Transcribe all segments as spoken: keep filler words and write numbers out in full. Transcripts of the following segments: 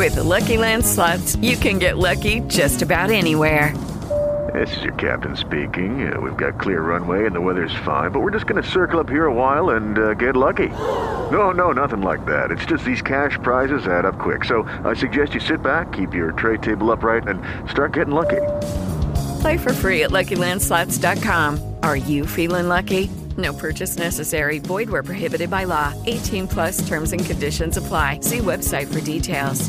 With the Lucky Land Slots, you can get lucky just about anywhere. This is your captain speaking. Uh, we've got clear runway and the weather's fine, but we're just going to circle up here a while and uh, get lucky. No, no, nothing like that. It's just these cash prizes add up quick. So I suggest you sit back, keep your tray table upright, and start getting lucky. Play for free at Lucky Land Slots dot com. Are you feeling lucky? No purchase necessary. Void where prohibited by law. eighteen plus terms and conditions apply. See website for details.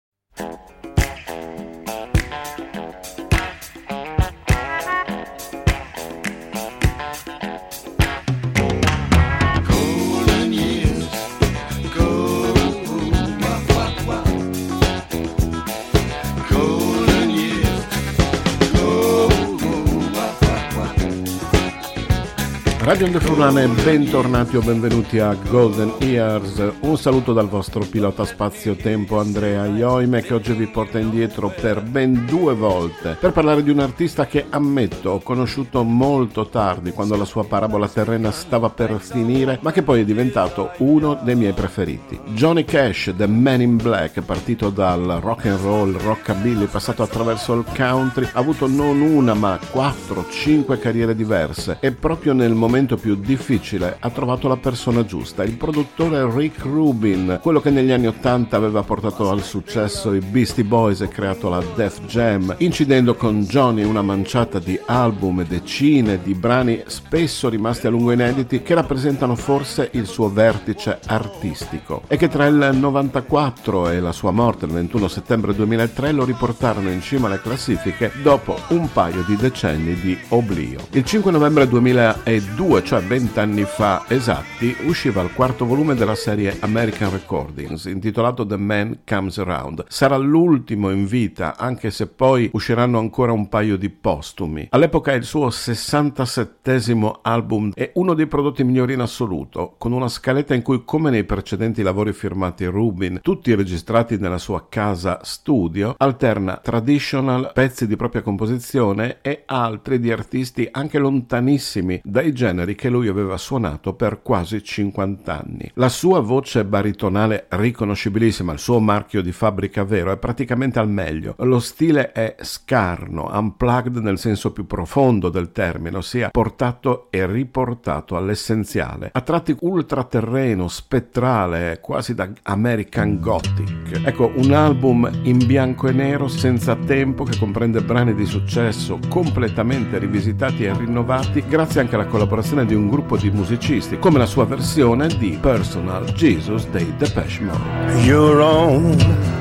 Radio Onde Friulane, bentornati o benvenuti a Golden Years. Un saluto dal vostro pilota spazio-tempo Andrea Ioime, che oggi vi porta indietro per ben due volte per parlare di un artista che, ammetto, ho conosciuto molto tardi, quando la sua parabola terrena stava per finire, ma che poi è diventato uno dei miei preferiti. Johnny Cash, The Man in Black, partito dal rock and roll, rockabilly, passato attraverso il country, ha avuto non una ma quattro, cinque carriere diverse, e proprio nel momento più difficile ha trovato la persona giusta, il produttore Rick Rubin, quello che negli anni ottanta aveva portato al successo i Beastie Boys e creato la Def Jam, incidendo con Johnny una manciata di album e decine di brani spesso rimasti a lungo inediti, che rappresentano forse il suo vertice artistico e che tra il novantaquattro e la sua morte il ventuno settembre duemilatré lo riportarono in cima alle classifiche dopo un paio di decenni di oblio. Il cinque novembre duemiladue, cioè vent'anni fa esatti, usciva il quarto volume della serie American Recordings, intitolato The Man Comes Around. Sarà l'ultimo in vita, anche se poi usciranno ancora un paio di postumi. All'epoca è il suo sessantasettesimo album e uno dei prodotti migliori in assoluto, con una scaletta in cui, come nei precedenti lavori firmati Rubin, tutti registrati nella sua casa studio, alterna traditional, pezzi di propria composizione e altri di artisti anche lontanissimi dai generi che lui aveva suonato per quasi cinquanta anni. La sua voce baritonale riconoscibilissima, il suo marchio di fabbrica vero, è praticamente al meglio. Lo stile è scarno, unplugged nel senso più profondo del termine, ossia portato e riportato all'essenziale. A tratti ultraterreno, spettrale, quasi da American Gothic. Ecco, un album in bianco e nero, senza tempo, che comprende brani di successo completamente rivisitati e rinnovati, grazie anche alla collaborazione di un gruppo di musicisti, come la sua versione di Personal Jesus dei Depeche Mode. Your own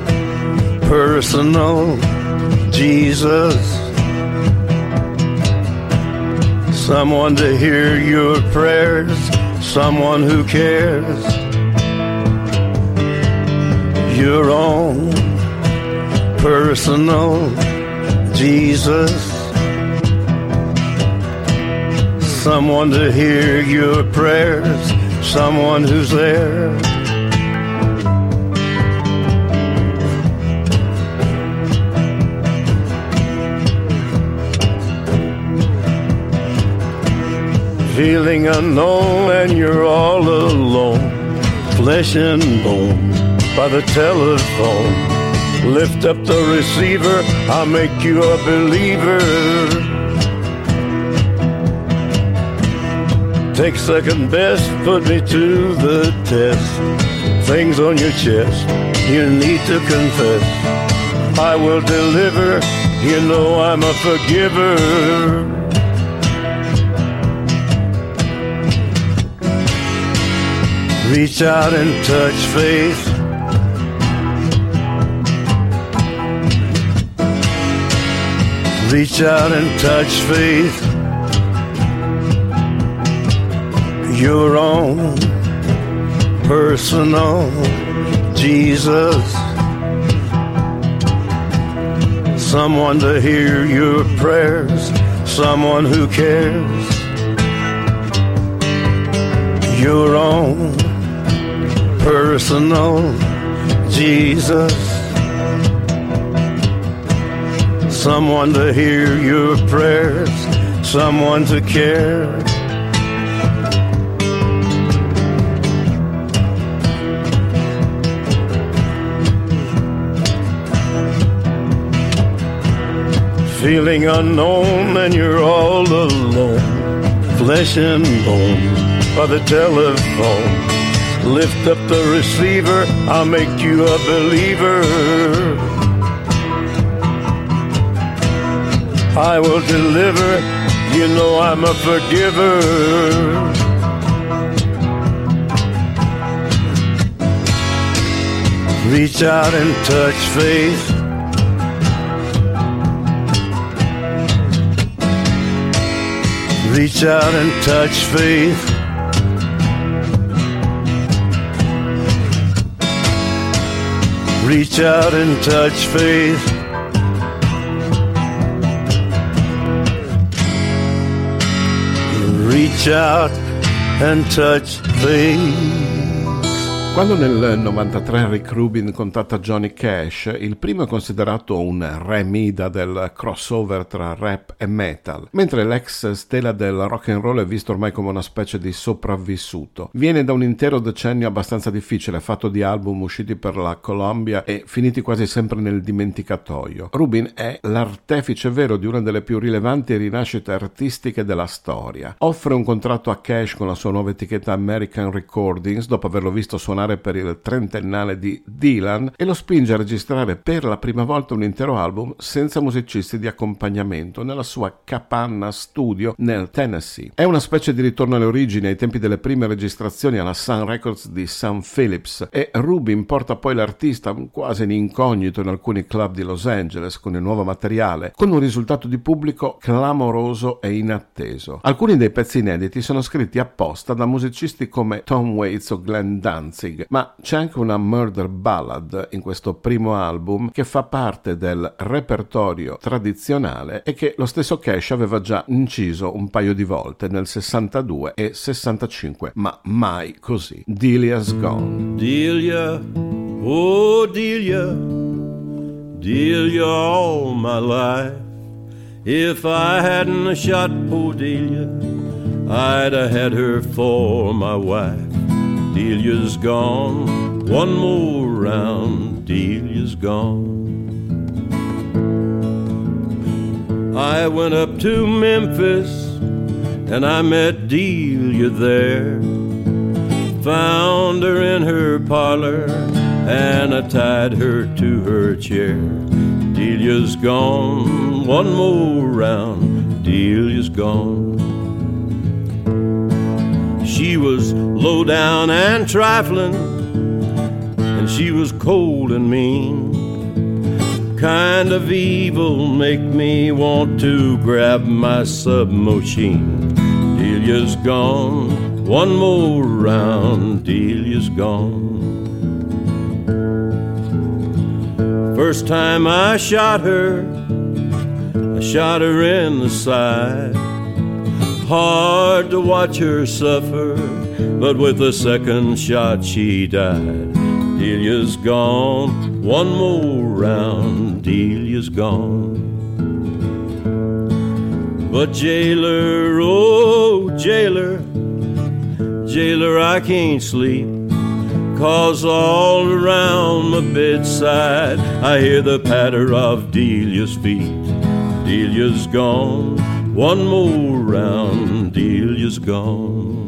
personal Jesus, someone to hear your prayers, someone who cares. Your own personal Jesus, someone to hear your prayers, someone who's there. Feeling unknown and you're all alone, flesh and bone by the telephone. Lift up the receiver, I'll make you a believer. Take second best, put me to the test. Things on your chest, you need to confess. I will deliver, you know I'm a forgiver. Reach out and touch faith. Reach out and touch faith. Your own personal Jesus, someone to hear your prayers, someone who cares. Your own personal Jesus, someone to hear your prayers, someone to care. feeling unknown and you're all alone, flesh and bone by the telephone. Lift up the receiver, I'll make you a believer. I will deliver, you know I'm a forgiver. Reach out and touch faith. Reach out and touch faith. Reach out and touch faith. Reach out and touch faith. Quando nel novantatré Rick Rubin contatta Johnny Cash, il primo è considerato un re Mida del crossover tra rap e metal, mentre l'ex stella del rock and roll è visto ormai come una specie di sopravvissuto. Viene da un intero decennio abbastanza difficile, fatto di album usciti per la Columbia e finiti quasi sempre nel dimenticatoio. Rubin è l'artefice vero di una delle più rilevanti rinascite artistiche della storia. Offre un contratto a Cash con la sua nuova etichetta American Recordings, dopo averlo visto suonare per il trentennale di Dylan, e lo spinge a registrare per la prima volta un intero album senza musicisti di accompagnamento nella sua capanna studio nel Tennessee. È una specie di ritorno alle origini, ai tempi delle prime registrazioni alla Sun Records di Sam Phillips, e Rubin porta poi l'artista quasi in incognito in alcuni club di Los Angeles con il nuovo materiale, con un risultato di pubblico clamoroso e inatteso. Alcuni dei pezzi inediti sono scritti apposta da musicisti come Tom Waits o Glenn Danzig, ma c'è anche una murder ballad in questo primo album che fa parte del repertorio tradizionale e che lo stesso Cash aveva già inciso un paio di volte nel sessantadue e sessantacinque, ma mai così. Delia's Gone. Delia, oh Delia, Delia all my life. If I hadn't shot poor Delia, I'd have had her for my wife. Delia's gone, one more round, Delia's gone. I went up to Memphis and I met Delia there. Found her in her parlor and I tied her to her chair. Delia's gone, one more round, Delia's gone. She was low down and trifling, and she was cold and mean. Kind of evil make me want to grab my submachine. Delia's gone, one more round, Delia's gone. First time I shot her, I shot her in the side. Hard to watch her suffer, but with the second shot she died. Delia's gone, one more round, Delia's gone. But jailer, oh jailer, jailer I can't sleep, 'cause all around my bedside I hear the patter of Delia's feet. Delia's gone, one more round, Delia's gone.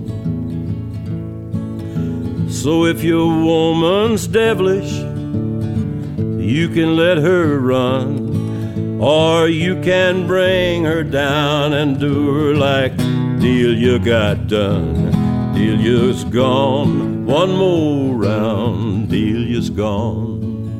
So if your woman's devilish, you can let her run, or you can bring her down and do her like Delia got done. Delia's gone, one more round, Delia's gone.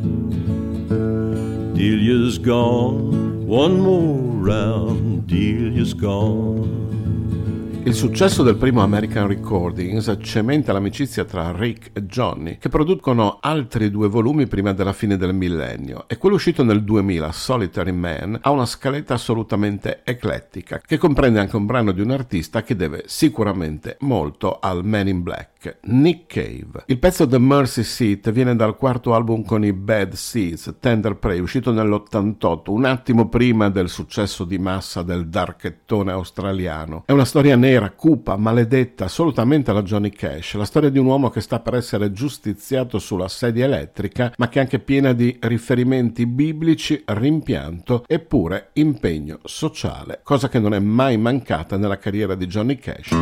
Delia's gone, one more round, Delia's gone. Il successo del primo American Recordings cementa l'amicizia tra Rick e Johnny, che producono altri due volumi prima della fine del millennio, e quello uscito nel duemila, Solitary Man, ha una scaletta assolutamente eclettica, che comprende anche un brano di un artista che deve sicuramente molto al Man in Black, Nick Cave. Il pezzo The Mercy Seat viene dal quarto album con i Bad Seeds, Tender Prey, uscito nell'ottantotto, un attimo prima del successo di massa del darkettone australiano. È una storia nera nera, cupa, maledetta, assolutamente alla Johnny Cash, la storia di un uomo che sta per essere giustiziato sulla sedia elettrica, ma che è anche piena di riferimenti biblici, rimpianto e pure impegno sociale, cosa che non è mai mancata nella carriera di Johnny Cash.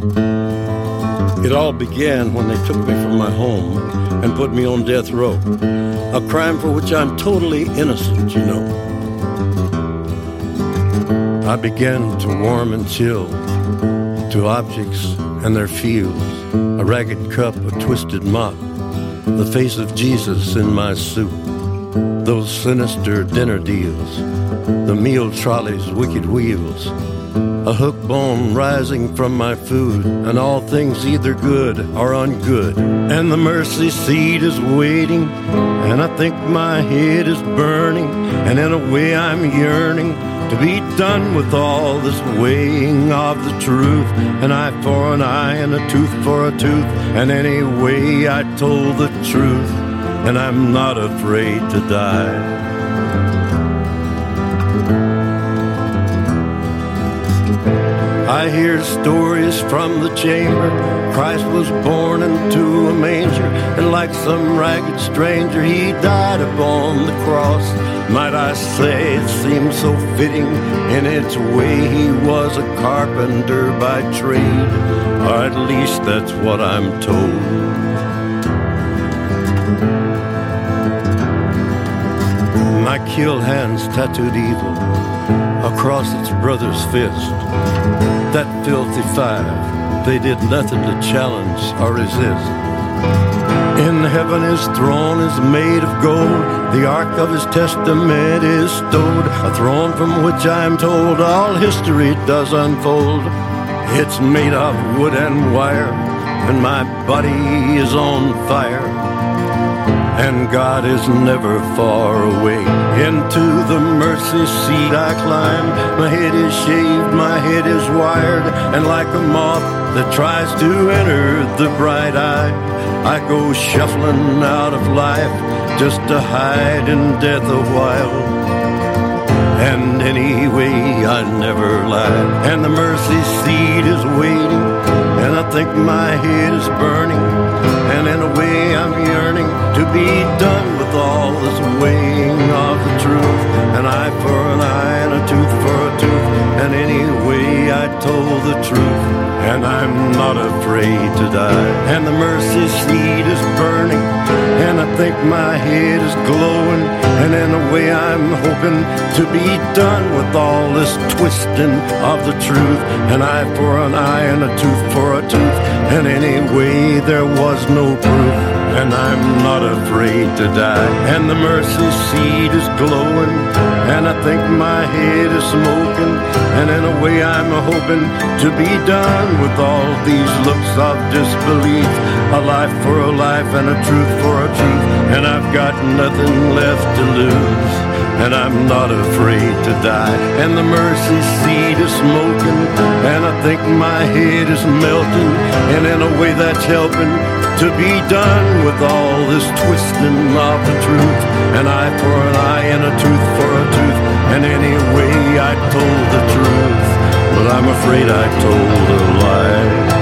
It all began when they took me from my home and put me on death row, a crime for which I'm totally innocent, you know. I began to warm and chill to objects and their feels, a ragged cup, a twisted mop, the face of Jesus in my soup, those sinister dinner deals, the meal trolley's wicked wheels, a hook bone rising from my food, and all things either good or ungood. And the mercy seat is waiting, and I think my head is burning, and in a way I'm yearning to be done with all this weighing of the truth. An eye for an eye and a tooth for a tooth, and anyway I told the truth, and I'm not afraid to die. I hear stories from the chamber. Christ was born into a manger, and like some ragged stranger he died upon the cross. Might I say it seems so fitting in its way. He was a carpenter by trade, or at least that's what I'm told. My killed hands tattooed evil across its brother's fist. That filthy five, they did nothing to challenge or resist. In heaven his throne is made of gold, the ark of his testament is stowed, a throne from which I'm told all history does unfold. It's made of wood and wire, and my body is on fire, and God is never far away. Into the mercy seat I climb, my head is shaved, my head is wired, and like a moth that tries to enter the bright eye, I go shuffling out of life just to hide in death a while. And anyway I never lied, and the mercy seat is waiting, and I think my head is burning, and in a way I'm yearning to be done with all this weighing of the truth. An eye for an eye and a tooth for a tooth, and anyway I told the truth, and I'm not afraid to die. And the mercy seat is burning, and I think my head is glowing, and in a way I'm hoping to be done with all this twisting of the truth. An eye for an eye and a tooth for a tooth, and anyway there was no proof, and I'm not afraid to die. And the mercy seat is glowing, and I think my head is smoking, and in a way I'm hoping to be done with all these looks of disbelief. A life for a life and a truth for a truth, and I've got nothing left to lose, and I'm not afraid to die. And the mercy seat is smoking, and I think my head is melting, and in a way that's helping to be done with all this twisting of the truth. An eye for an eye and a tooth for a tooth, and anyway I told the truth, but I'm afraid I told a lie.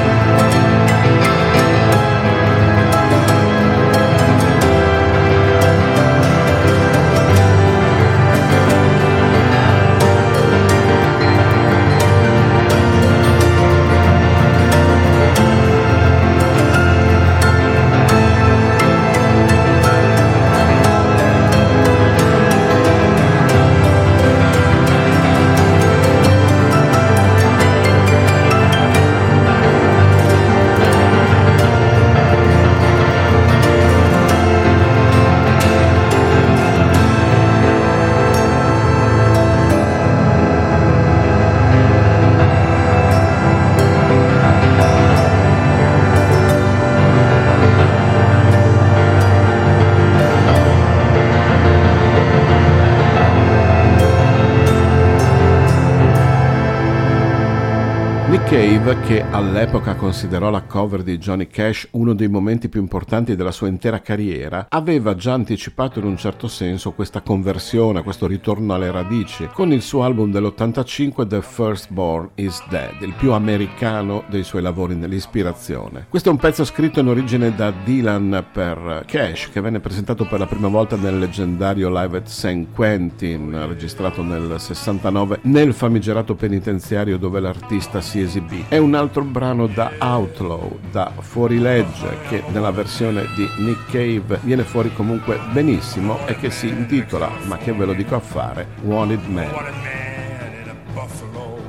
Cave, che all'epoca considerò la cover di Johnny Cash uno dei momenti più importanti della sua intera carriera, aveva già anticipato in un certo senso questa conversione, questo ritorno alle radici, con il suo album dell'ottantacinque The Firstborn is Dead, il più americano dei suoi lavori nell'ispirazione. Questo è un pezzo scritto in origine da Dylan per Cash, che venne presentato per la prima volta nel leggendario Live at San Quentin, registrato nel sessantanove nel famigerato penitenziario dove l'artista si esibì. È un altro brano da Outlaw, da fuorilegge, che nella versione di Nick Cave viene fuori comunque benissimo e che si intitola, ma che ve lo dico a fare, Wanted Man. Wanted man in a Buffalo.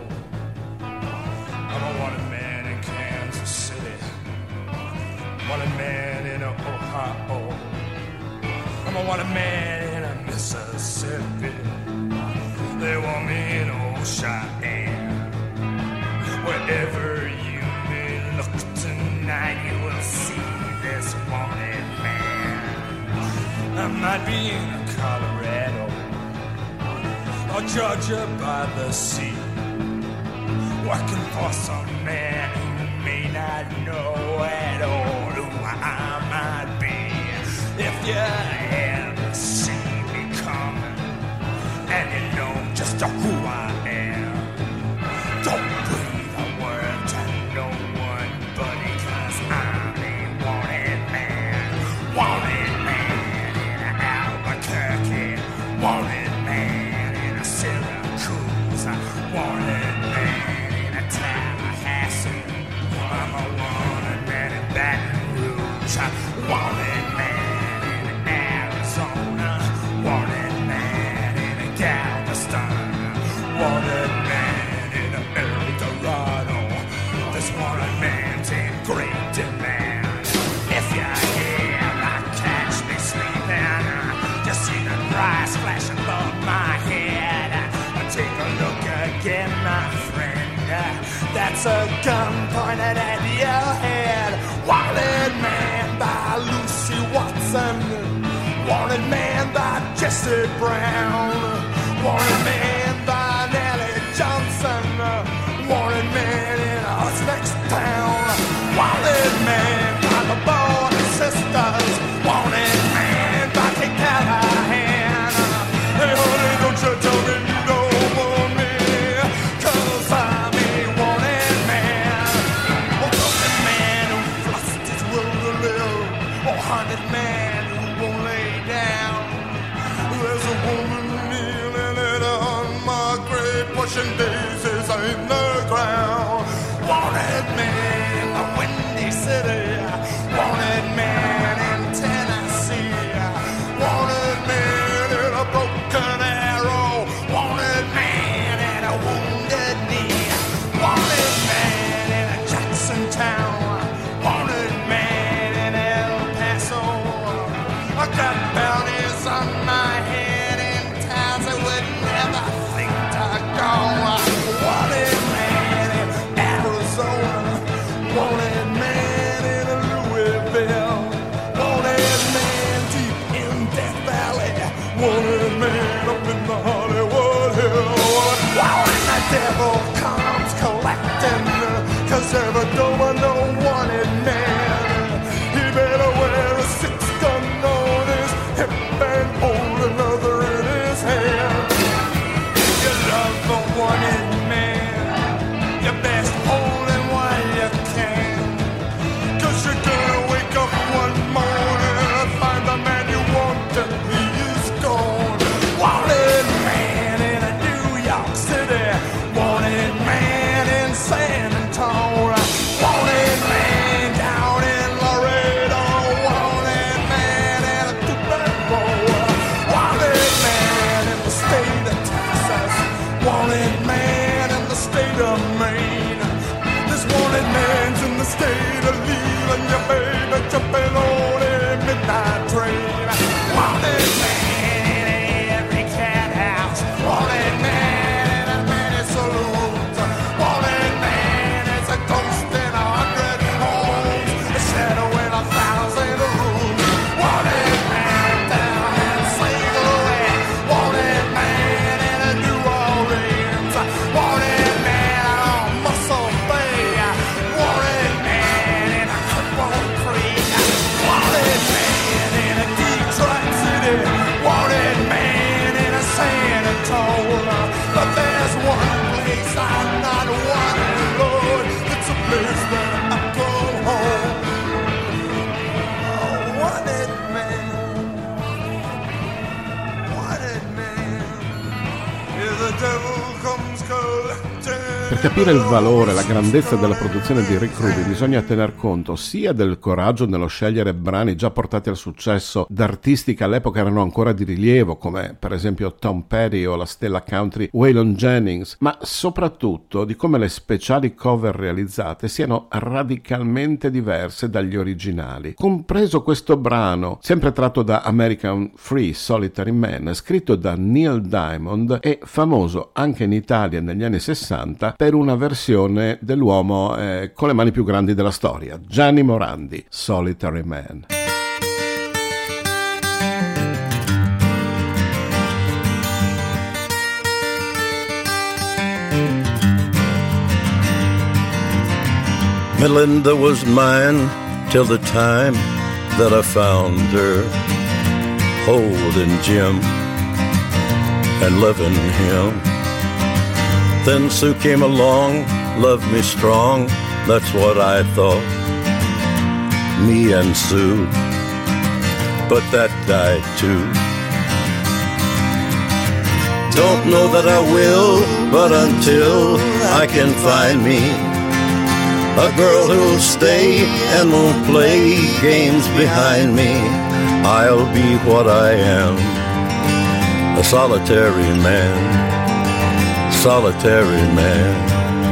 I'm a wanted man in Kansas City. Wanted man in a Ohio. I'm a wanted man in a Mississippi. They want me in old Cheyenne. Wherever you may look tonight, you will see this wanted man. I might be in Colorado or Georgia by the sea, working for some man who may not know at all who I might be. If you ever see me coming and you know just who I am, don't breathe a word to no one, buddy, 'cause I'm a wanted man. Wanted man in Albuquerque. Wanted man in Syracuse. Wanted man in Tallahassee. I'm a wanted man in Baton Rouge. Wanted man in Arizona. Wanted man in Galveston. Wanted man in El Dorado. This wanted man's in great demand. If you ever catch me sleeping, just see the price flash above my head. Take a look again, my friend. That's a gun pointed at your head. Wanted man by Lucy Watson. Wanted man by Jesse Brown. Wanted man by Nellie Johnson. Wanted man in us next town. Wanted man by the Border Sisters. Wanted man by Kate Callahan. Hey honey, don't you tell me you don't want me, 'cause I'm a wanted man. A wanted man who lost his will to live. A haunted man who won't lay down. There's a woman kneeling at on my grave, pushing daisies in the ground. Wanted man in the Windy City. Wanted man in Tennessee. Wanted man in a broken arrow. Wanted man in a wounded knee. Wanted man in a Jackson town. Wanted man in El Paso. I got bounties on my head in towns I would never think to go. Wanted man in Arizona. Wanted man in Louisville. Wanted man deep in Death Valley. Wanted man up in the Hollywood Hills. Wow, and the devil comes collecting, 'cause every door no wanted man. He better wear a six gun on his hip and hold another in his hand. If you love the wanted man, you best hold him while you can, 'cause you're gonna wake up one morning and find the man you want and he is gone. capire il valore, la grandezza della produzione di Rick Rubin bisogna tener conto sia del coraggio nello scegliere brani già portati al successo da artisti che all'epoca erano ancora di rilievo, come per esempio Tom Petty o la stella country Waylon Jennings, ma soprattutto di come le speciali cover realizzate siano radicalmente diverse dagli originali. Compreso questo brano, sempre tratto da American Free Solitary Man, scritto da Neil Diamond e famoso anche in Italia negli anni sessanta per una versione dell'uomo eh, con le mani più grandi della storia, Gianni Morandi, Solitary Man. Melinda was mine till the time that I found her holding Jim and loving him. Then Sue came along, loved me strong, that's what I thought, me and Sue, but that died too. Don't know that I will, but until I can find me a girl who'll stay and won't play games behind me, I'll be what I am, a solitary man, solitary man.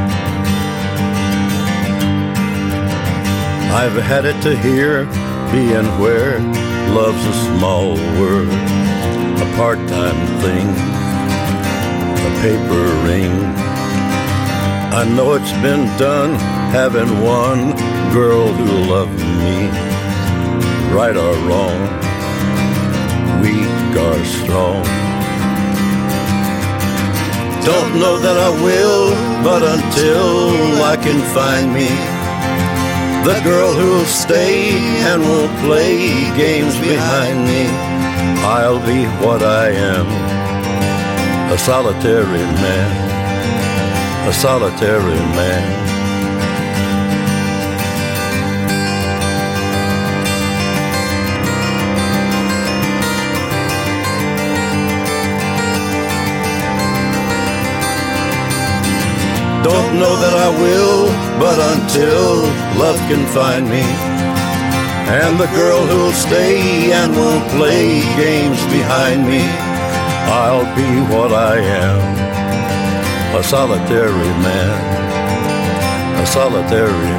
I've had it to hear, being where love's a small word, a part-time thing, a paper ring. I know it's been done, having one girl who loved me, right or wrong, weak or strong. Don't know that I will, but until I can find me the girl who'll stay and won't play games behind me, I'll be what I am, a solitary man, a solitary man. Don't know that I will, but until love can find me, and the girl who'll stay and won't play games behind me, I'll be what I am, a solitary man, a solitary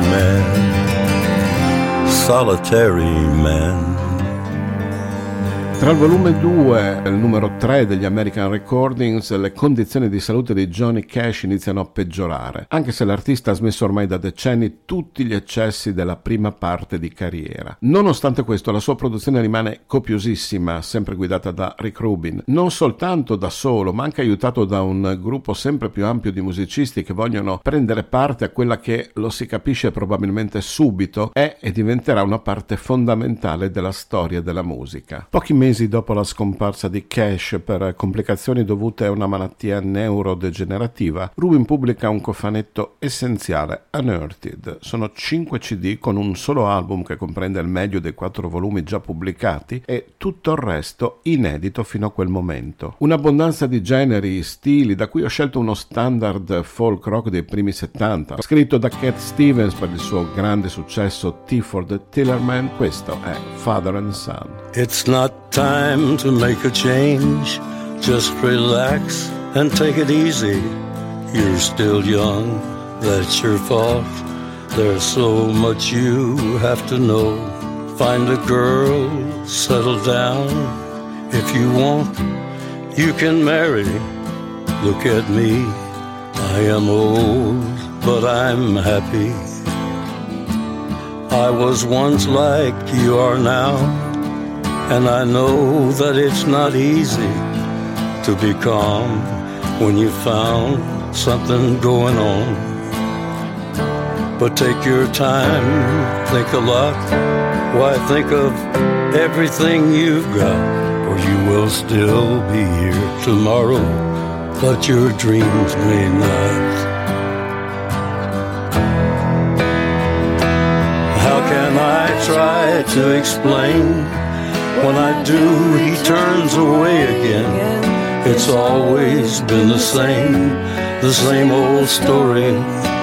man, solitary man. Tra il volume due e il numero tre degli American Recordings le condizioni di salute di Johnny Cash iniziano a peggiorare, anche se l'artista ha smesso ormai da decenni tutti gli eccessi della prima parte di carriera. Nonostante questo la sua produzione rimane copiosissima, sempre guidata da Rick Rubin, non soltanto da solo ma anche aiutato da un gruppo sempre più ampio di musicisti che vogliono prendere parte a quella che, lo si capisce probabilmente subito, è e diventerà una parte fondamentale della storia della musica. Pochi mesi dopo la scomparsa di Cash per complicazioni dovute a una malattia neurodegenerativa, Rubin pubblica un cofanetto essenziale, Unearthed. Sono cinque C D con un solo album che comprende il meglio dei quattro volumi già pubblicati e tutto il resto inedito fino a quel momento. Un'abbondanza di generi, stili, da cui ho scelto uno standard folk rock dei primi settanta, scritto da Cat Stevens per il suo grande successo Tea for the Tillerman. Questo è Father and Son. It's not time to make a change, just relax and take it easy. You're still young, that's your fault. There's so much you have to know. Find a girl, settle down. If you want, you can marry. Look at me, I am old, but I'm happy. I was once like you are now, and I know that it's not easy to be calm when you found something going on. But take your time, think a lot. Why, think of everything you've got, or you will still be here tomorrow, but your dreams may not. How can I try to explain? When I do, he turns away again. It It's always been the same, the same old story.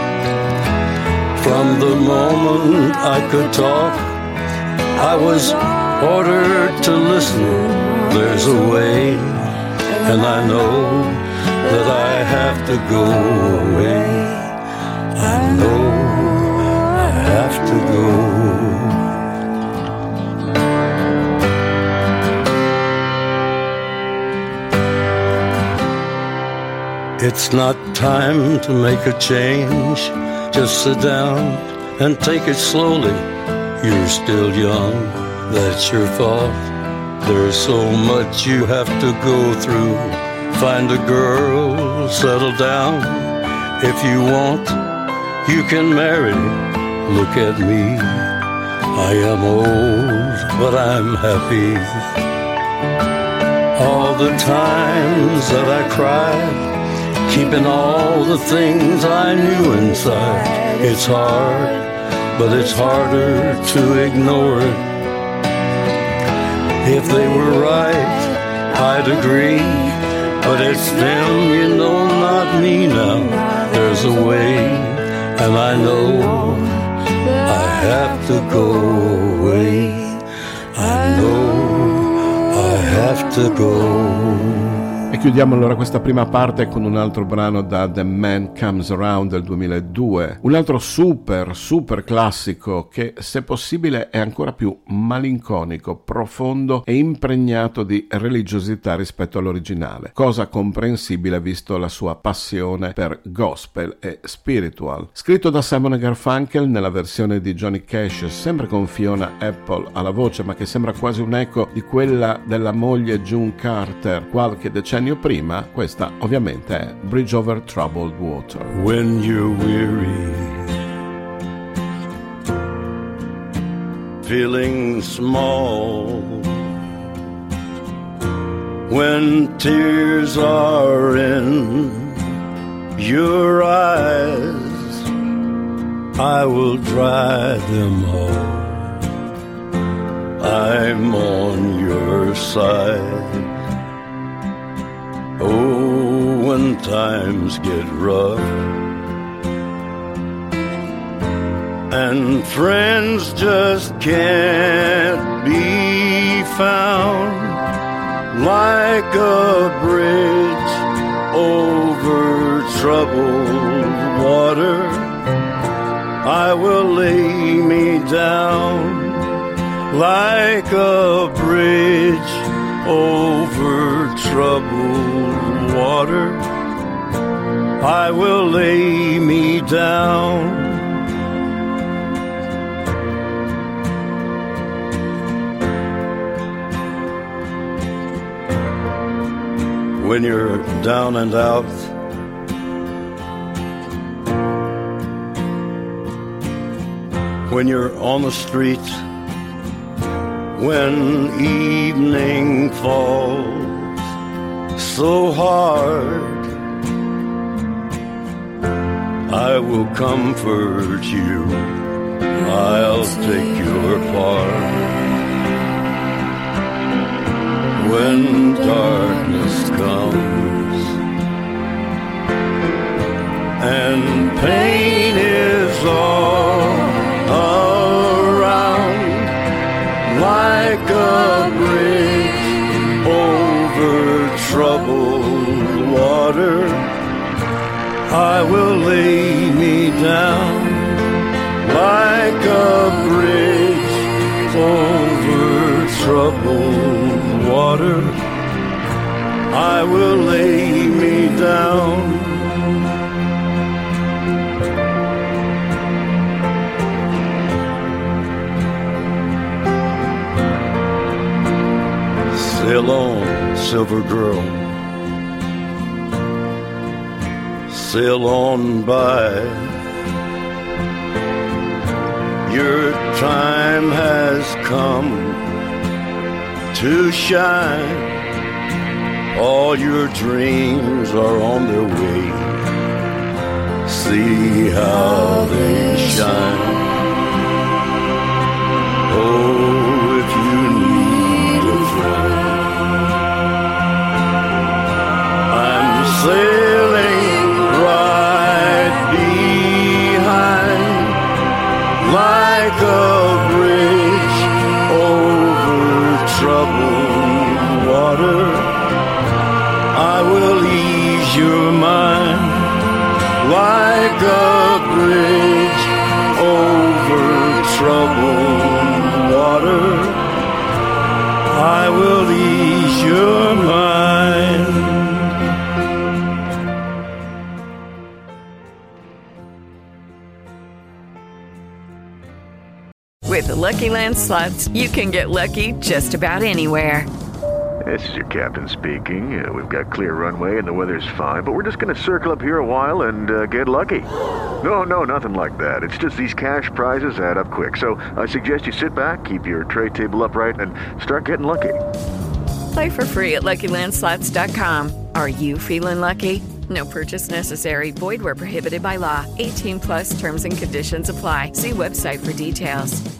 From the moment I could talk, I was ordered to listen. There's a way, and I know that I have to go away. I know I have to go. It's not time to make a change. Just sit down and take it slowly. You're still young, that's your fault. There's so much you have to go through. Find a girl, settle down. If you want, you can marry. Look at me, I am old, but I'm happy. All the times that I cried, keeping all the things I knew inside. It's hard, but it's harder to ignore it. If they were right, I'd agree. But it's them, you know, not me now. There's a way, and I know I have to go away. I know I have to go. E chiudiamo allora questa prima parte con un altro brano da The Man Comes Around del duemiladue, un altro super super classico che, se possibile, è ancora più malinconico, profondo e impregnato di religiosità rispetto all'originale, cosa comprensibile visto la sua passione per gospel e spiritual. Scritto da Simon e Garfunkel nella versione di Johnny Cash, sempre con Fiona Apple alla voce, ma che sembra quasi un eco di quella della moglie June Carter qualche decennio prima. Questa ovviamente è Bridge Over Troubled Water. When you're weary, feeling small, when tears are in your eyes, I will dry them all. I'm on your side. Oh, when times get rough and friends just can't be found, like a bridge over troubled water, I will lay me down. Like a bridge over troubled water, I will lay me down. When you're down and out, when you're on the street, when evening falls so hard, I will comfort you, I'll take your part. When darkness comes and pain is all around, like a bridge over troubled water, I will lay me down. Like a bridge over troubled water, I will lay me down. Sail on, silver girl, sail on by. Your time has come to shine. All your dreams are on their way. See how they shine. Oh, if you need a friend, like a bridge over troubled water. I will ease your mind. With the Lucky Land Slots, you can get lucky just about anywhere. This is your captain speaking. Uh, we've got clear runway and the weather's fine, but we're just going to circle up here a while and uh, get lucky. No, no, nothing like that. It's just these cash prizes add up quick. So I suggest you sit back, keep your tray table upright, and start getting lucky. Play for free at Lucky Land Slots dot com. Are you feeling lucky? No purchase necessary. Void where prohibited by law. eighteen plus terms and conditions apply. See website for details.